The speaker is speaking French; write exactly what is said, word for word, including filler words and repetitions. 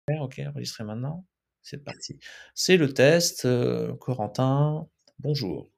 Ouais, OK, enregistrer maintenant. C'est parti. C'est le test, heu, Corentin, bonjour.